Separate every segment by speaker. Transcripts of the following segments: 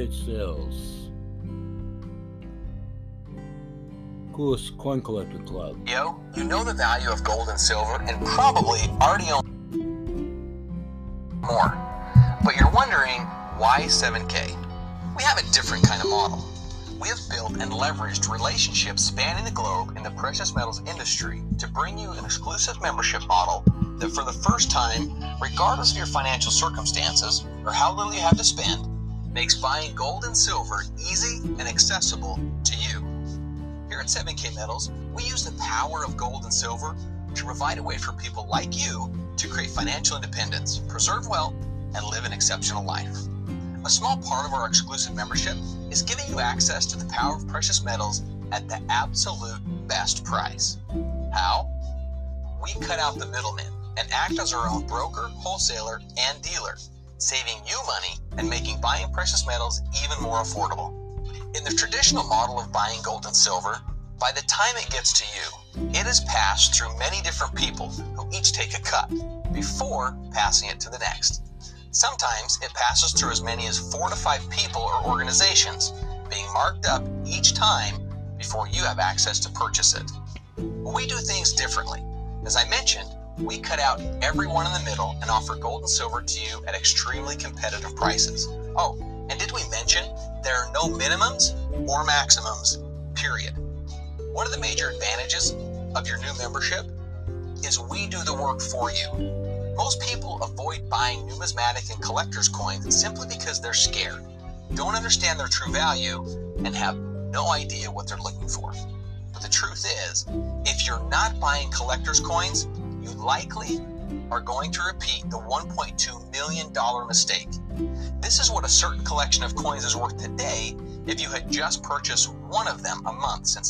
Speaker 1: website sales. Coolest Coin Collector Club.
Speaker 2: Yo, you know the value of gold and silver and probably already own more. But you're wondering, why 7K? We have a different kind of model. We have built and leveraged relationships spanning the globe in the precious metals industry to bring you an exclusive membership model that for the first time, regardless of your financial circumstances or how little you have to spend, makes buying gold and silver easy and accessible to you. Here at 7K Metals, we use the power of gold and silver to provide a way for people like you to create financial independence, preserve wealth, and live an exceptional life. A small part of our exclusive membership is giving you access to the power of precious metals at the absolute best price. How? We cut out the middleman and act as our own broker, wholesaler, and dealer, saving you money and making buying precious metals even more affordable. In the traditional model of buying gold and silver, by the time it gets to you, it is passed through many different people who each take a cut before passing it to the next. Sometimes it passes through as many as 4 to 5 people or organizations, being marked up each time before you have access to purchase it. But we do things differently. As I mentioned, we cut out everyone in the middle and offer gold and silver to you at extremely competitive prices. Oh, and did we mention there are no minimums or maximums, period. One of the major advantages of your new membership is we do the work for you. Most people avoid buying numismatic and collector's coins simply because they're scared, don't understand their true value, and have no idea what they're looking for. But the truth is, if you're not buying collector's coins, you likely are going to repeat the $1.2 million mistake. This is what a certain collection of coins is worth today if you had just purchased one of them a month since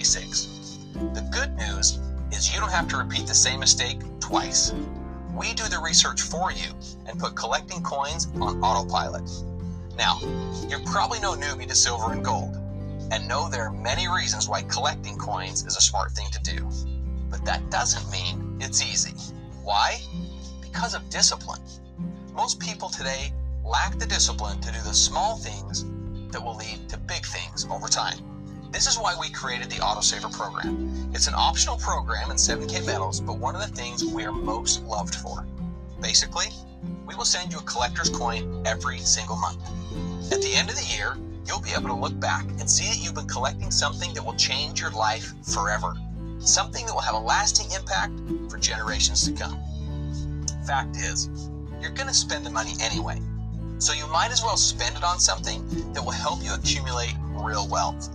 Speaker 2: 1986. The good news is you don't have to repeat the same mistake twice. We do the research for you and put collecting coins on autopilot. Now, you're probably no newbie to silver and gold, and know there are many reasons why collecting coins is a smart thing to do. But that doesn't mean it's easy. Why? Because of discipline. Most people today lack the discipline to do the small things that will lead to big things over time. This is why we created the Autosaver program. It's an optional program in 7K Metals, but one of the things we are most loved for. Basically, we will send you a collector's coin every single month. At the end of the year, you'll be able to look back and see that you've been collecting something that will change your life forever. Something that will have a lasting impact for generations to come. Fact is, you're going to spend the money anyway, so you might as well spend it on something that will help you accumulate real wealth.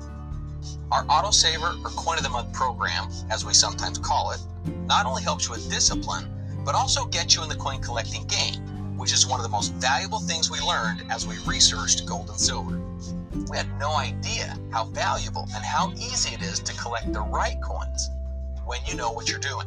Speaker 2: Our Autosaver or Coin of the Month program, as we sometimes call it, not only helps you with discipline, but also gets you in the coin collecting game, which is one of the most valuable things we learned as we researched gold and silver. We had no idea how valuable and how easy it is to collect the right coins when you know what you're doing.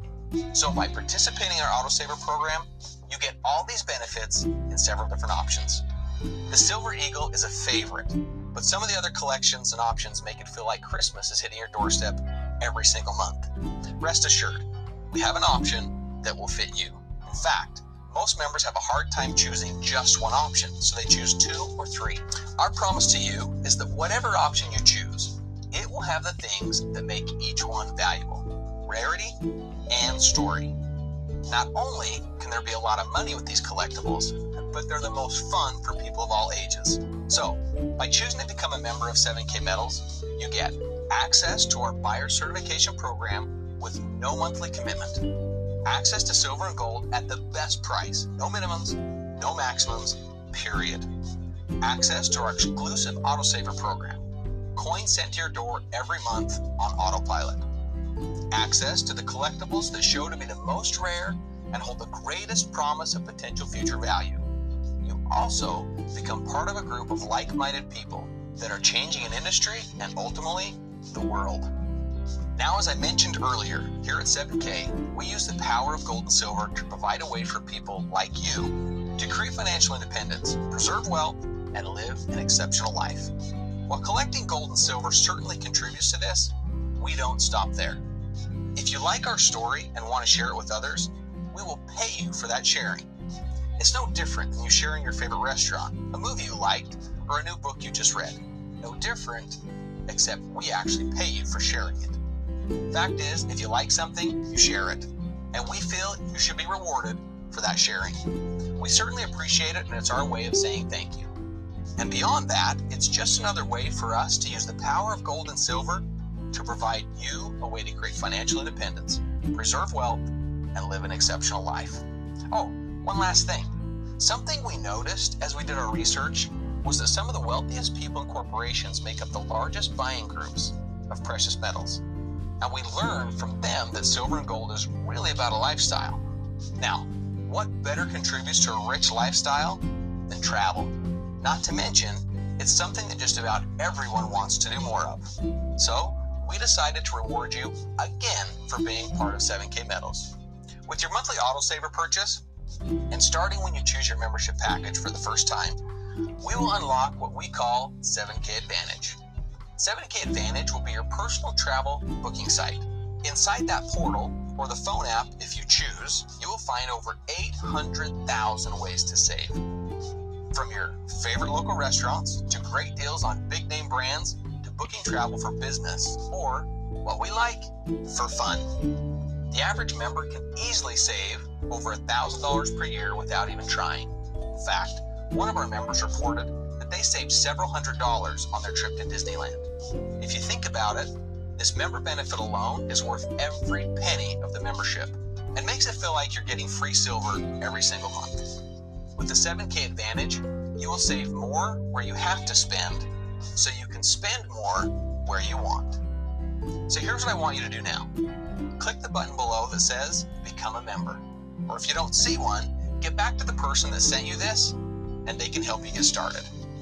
Speaker 2: So by participating in our Autosaver program, you get all these benefits in several different options. The Silver Eagle is a favorite, but some of the other collections and options make it feel like Christmas is hitting your doorstep every single month. Rest assured, we have an option that will fit you. In fact, most members have a hard time choosing just one option, so they choose 2 or 3. Our promise to you is that whatever option you choose, it will have the things that make each one valuable: rarity and story. Not only can there be a lot of money with these collectibles, but they're the most fun for people of all ages. So, by choosing to become a member of 7K Metals, you get access to our buyer certification program with no monthly commitment, access to silver and gold at the best price, no minimums, no maximums, period, access to our exclusive Autosaver program, coins sent to your door every month on autopilot, access to the collectibles that show to be the most rare and hold the greatest promise of potential future value. You also become part of a group of like-minded people that are changing an industry and ultimately the world. Now, as I mentioned earlier, here at 7K, we use the power of gold and silver to provide a way for people like you to create financial independence, preserve wealth, and live an exceptional life. While collecting gold and silver certainly contributes to this, we don't stop there. If you like our story and want to share it with others, we will pay you for that sharing. It's no different than you sharing your favorite restaurant, a movie you liked, or a new book you just read. No different, except we actually pay you for sharing it. Fact is, if you like something, you share it. And we feel you should be rewarded for that sharing. We certainly appreciate it, and it's our way of saying thank you. And beyond that, it's just another way for us to use the power of gold and silver to provide you a way to create financial independence, preserve wealth, and live an exceptional life. Oh, one last thing. Something we noticed as we did our research was that some of the wealthiest people and corporations make up the largest buying groups of precious metals. And we learned from them that silver and gold is really about a lifestyle. Now, what better contributes to a rich lifestyle than travel? Not to mention, it's something that just about everyone wants to do more of. So, we decided to reward you again for being part of 7K Metals. With your monthly autosaver purchase, and starting when you choose your membership package for the first time, we will unlock what we call 7K Advantage. 7K Advantage will be your personal travel booking site. Inside that portal, or the phone app if you choose, you will find over 800,000 ways to save. From your favorite local restaurants, to great deals on big name brands, to booking travel for business, or what we like, for fun. The average member can easily save over $1,000 per year without even trying. In fact, one of our members reported that they saved several $100s on their trip to Disneyland. If you think about it, this member benefit alone is worth every penny of the membership and makes it feel like you're getting free silver every single month. With the 7K Advantage, you will save more where you have to spend, so you can spend more where you want. So here's what I want you to do now. Click the button below that says Become a Member. Or if you don't see one, get back to the person that sent you this, and they can help you get started.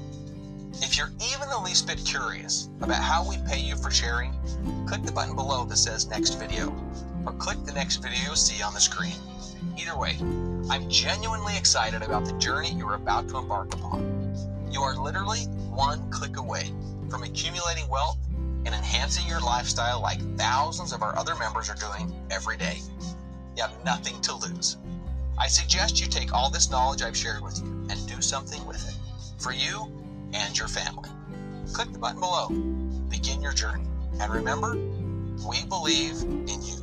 Speaker 2: If you're even the least bit curious about how we pay you for sharing, click the button below that says Next Video, or click the next video you'll see on the screen. Either way, I'm genuinely excited about the journey you're about to embark upon. You are literally one click away from accumulating wealth and enhancing your lifestyle like thousands of our other members are doing every day. You have nothing to lose. I suggest you take all this knowledge I've shared with you and do something with it, for you and your family. Click the button below. Begin your journey. And remember, we believe in you.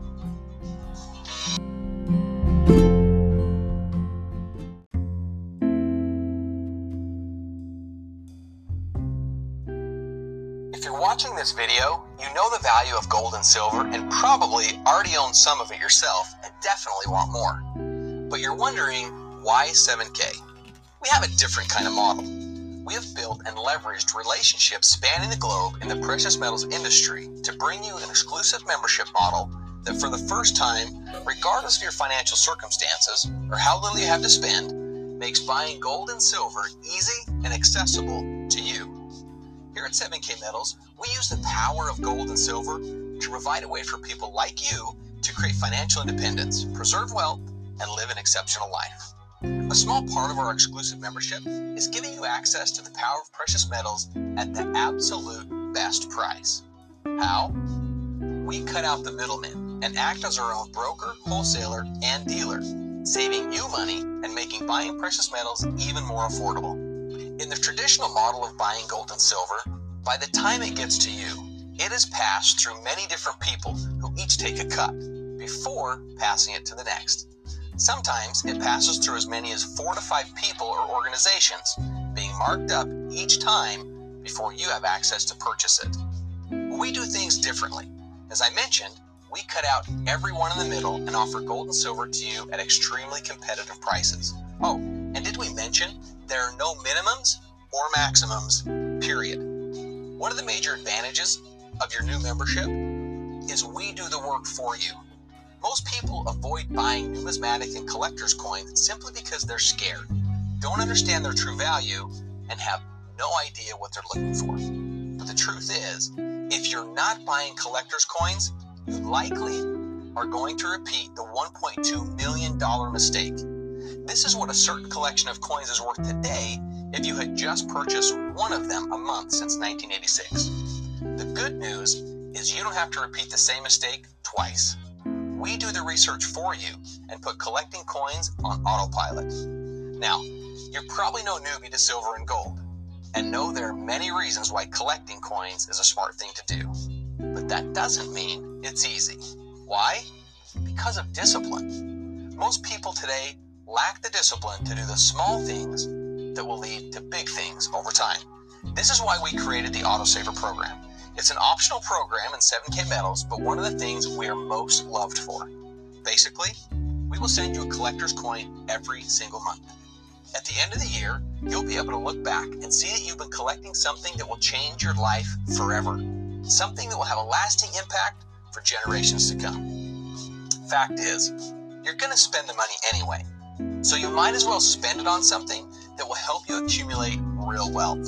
Speaker 2: If you're watching this video, you know the value of gold and silver and probably already own some of it yourself and definitely want more. But you're wondering, why 7K? We have a different kind of model. We have built and leveraged relationships spanning the globe in the precious metals industry to bring you an exclusive membership model that for the first time, regardless of your financial circumstances or how little you have to spend, makes buying gold and silver easy and accessible to you. Here at 7K Metals, we use the power of gold and silver to provide a way for people like you to create financial independence, preserve wealth, and live an exceptional life. A small part of our exclusive membership is giving you access to the power of precious metals at the absolute best price. How? We cut out the middleman and act as our own broker, wholesaler, and dealer, saving you money and making buying precious metals even more affordable. In the traditional model of buying gold and silver, by the time it gets to you, it is passed through many different people who each take a cut before passing it to the next. Sometimes it passes through as many as 4 to 5 people or organizations, being marked up each time before you have access to purchase it. We do things differently. As I mentioned, we cut out everyone in the middle and offer gold and silver to you at extremely competitive prices. Oh, and did we mention there are no minimums or maximums, period. One of the major advantages of your new membership is we do the work for you. Most people avoid buying numismatic and collector's coins simply because they're scared, don't understand their true value, and have no idea what they're looking for. But the truth is, if you're not buying collector's coins, you likely are going to repeat the $1.2 million mistake. This is what a certain collection of coins is worth today if you had just purchased one of them a month since 1986. The good news is you don't have to repeat the same mistake twice. We do the research for you and put collecting coins on autopilot. Now, you're probably no newbie to silver and gold. and know there are many reasons why collecting coins is a smart thing to do. But that doesn't mean it's easy. Why? Because of discipline. Most people today lack the discipline to do the small things that will lead to big things over time. This is why we created the Autosaver program. It's an optional program in 7K Metals, but one of the things we are most loved for. Basically, we will send you a collector's coin every single month. At the end of the year, you'll be able to look back and see that you've been collecting something that will change your life forever. Something that will have a lasting impact for generations to come. Fact is, you're going to spend the money anyway, so you might as well spend it on something that will help you accumulate real wealth.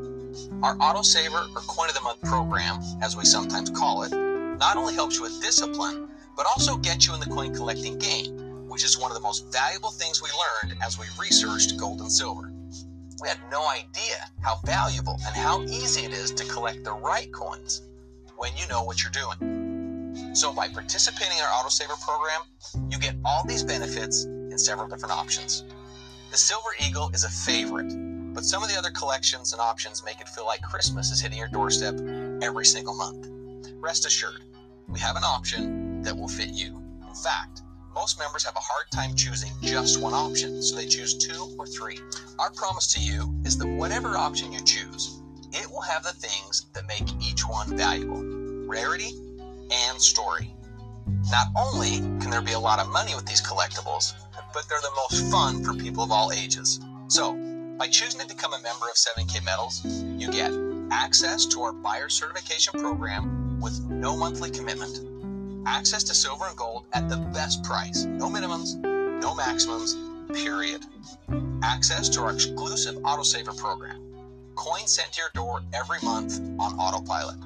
Speaker 2: Our Autosaver or Coin of the Month program, as we sometimes call it, not only helps you with discipline, but also gets you in the coin collecting game, which is one of the most valuable things we learned as we researched gold and silver. We had no idea how valuable and how easy it is to collect the right coins when you know what you're doing. So by participating in our Autosaver program, you get all these benefits in several different options. The Silver Eagle is a favorite, but some of the other collections and options make it feel like Christmas is hitting your doorstep every single month. Rest assured, we have an option that will fit you. In fact, most members have a hard time choosing just one option, so they choose 2 or 3. Our promise to you is that whatever option you choose, it will have the things that make each one valuable: rarity and story. Not only can there be a lot of money with these collectibles, but they're the most fun for people of all ages. So, by choosing to become a member of 7K Metals, you get access to our buyer certification program with no monthly commitment, access to silver and gold at the best price, no minimums, no maximums, period. Access to our exclusive Autosaver program, coins sent to your door every month on autopilot.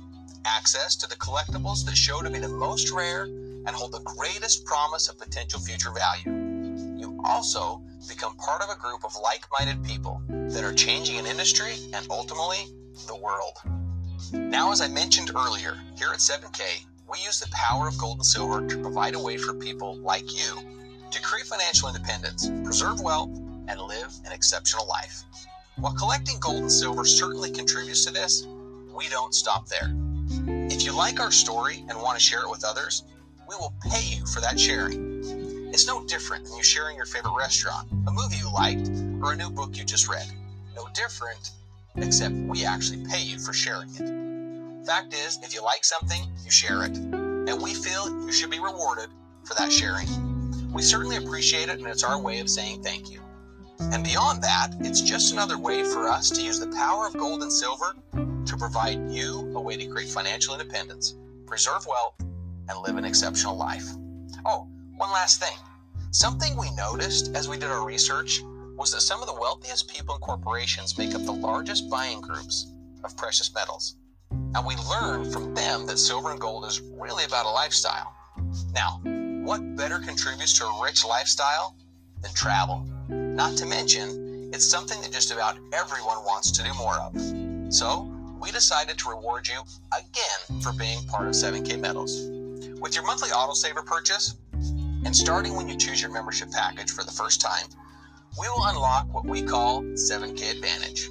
Speaker 2: Access to the collectibles that show to be the most rare and hold the greatest promise of potential future value. You also become part of a group of like-minded people that are changing an industry and ultimately the world. Now, as I mentioned earlier, here at 7K, we use the power of gold and silver to provide a way for people like you to create financial independence, preserve wealth, and live an exceptional life. While collecting gold and silver certainly contributes to this, we don't stop there. If you like our story and want to share it with others, we will pay you for that sharing. It's no different than you sharing your favorite restaurant, a movie you liked, or a new book you just read. No different, except we actually pay you for sharing it. Fact is, if you like something, you share it, and we feel you should be rewarded for that sharing. We certainly appreciate it, and it's our way of saying thank you. And beyond that, it's just another way for us to use the power of gold and silver to provide you a way to create financial independence, preserve wealth, and live an exceptional life. Oh, one last thing. Something we noticed as we did our research was that some of the wealthiest people and corporations make up the largest buying groups of precious metals. And we learned from them that silver and gold is really about a lifestyle. Now, what better contributes to a rich lifestyle than travel? Not to mention, it's something that just about everyone wants to do more of. So, we decided to reward you again for being part of 7K Metals. With your monthly Autosaver purchase, and starting when you choose your membership package for the first time, we will unlock what we call 7K Advantage.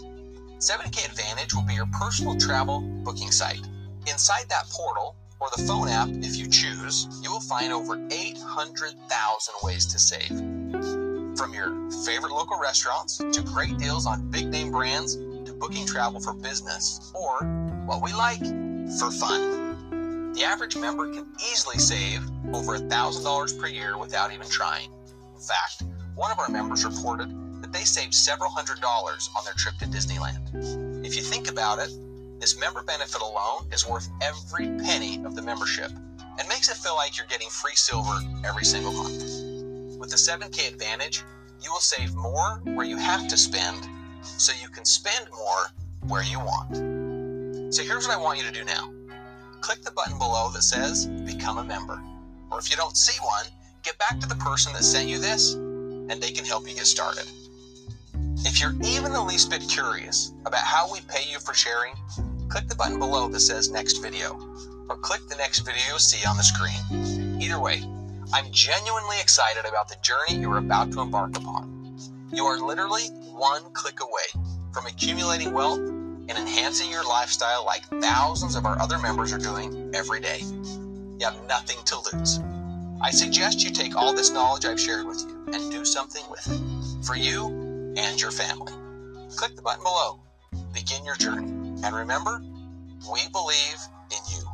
Speaker 2: 7K Advantage will be your personal travel booking site. Inside that portal, or the phone app if you choose, you will find over 800,000 ways to save. From your favorite local restaurants, to great deals on big name brands, to booking travel for business, or, what we like, for fun. The average member can easily save over $1,000 per year without even trying. In fact, one of our members reported that they saved several $100s on their trip to Disneyland. If you think about it, this member benefit alone is worth every penny of the membership and makes it feel like you're getting free silver every single month. With the 7K Advantage, you will save more where you have to spend so you can spend more where you want. So here's what I want you to do now. Click the button below that says Become a Member. Or if you don't see one, get back to the person that sent you this and they can help you get started. If you're even the least bit curious about how we pay you for sharing, click the button below that says Next Video, or click the next video you'll see on the screen. Either way, I'm genuinely excited about the journey you're about to embark upon. You are literally one click away from accumulating wealth and enhancing your lifestyle like thousands of our other members are doing every day. You have nothing to lose. I suggest you take all this knowledge I've shared with you and do something with it for you and your family. Click the button below. Begin your journey. And remember, we believe in you.